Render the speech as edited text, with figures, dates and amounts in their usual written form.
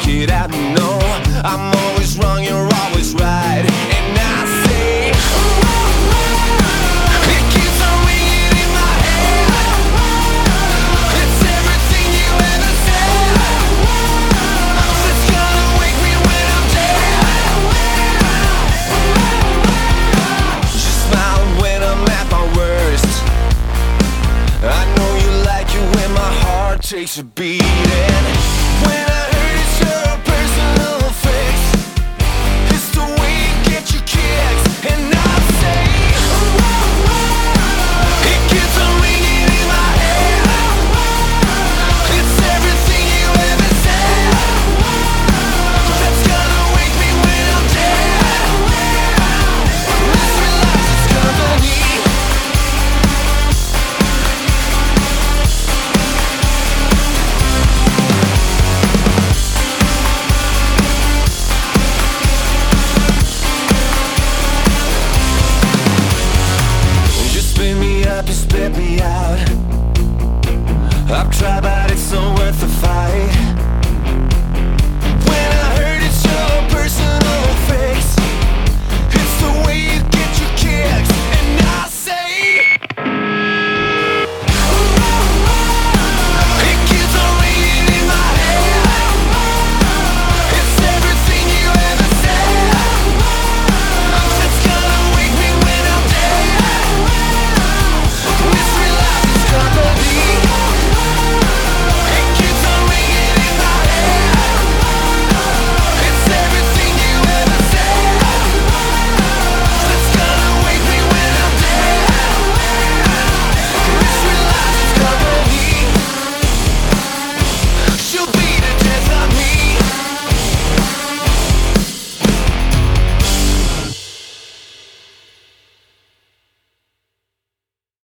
it out. No, I'm always wrong, you're always right. And I say, it keeps on ringing in my head. It's everything you ever said. It's gonna wake me when I'm dead. You smile when I'm at my worst. I know you like it when my heart takes a beating. When